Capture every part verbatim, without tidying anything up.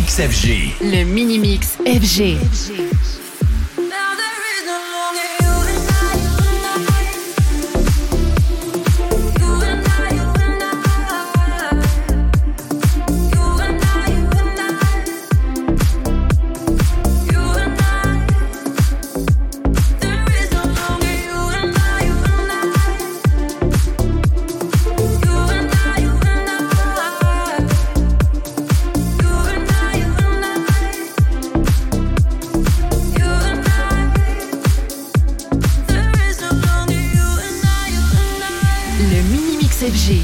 Mix F G. Le Mini Mix F G. F G.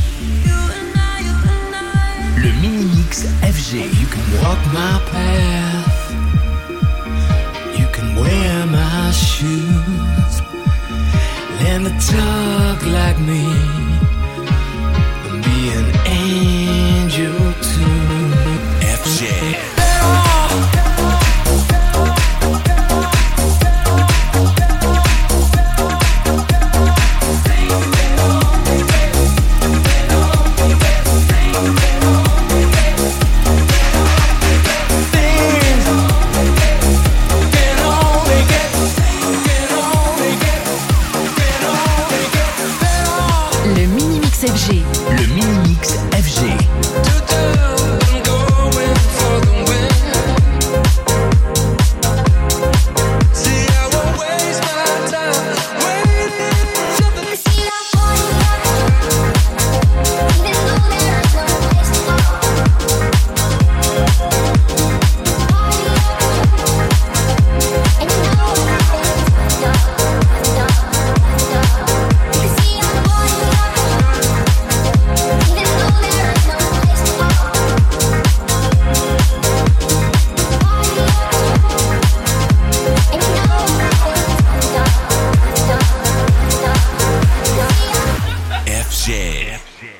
Le Mini Mix F G. You can walk my path, you can wear my shoes, learn to talk like me, and be an angel too. F G. F G. Le Mini Mix F G. F G.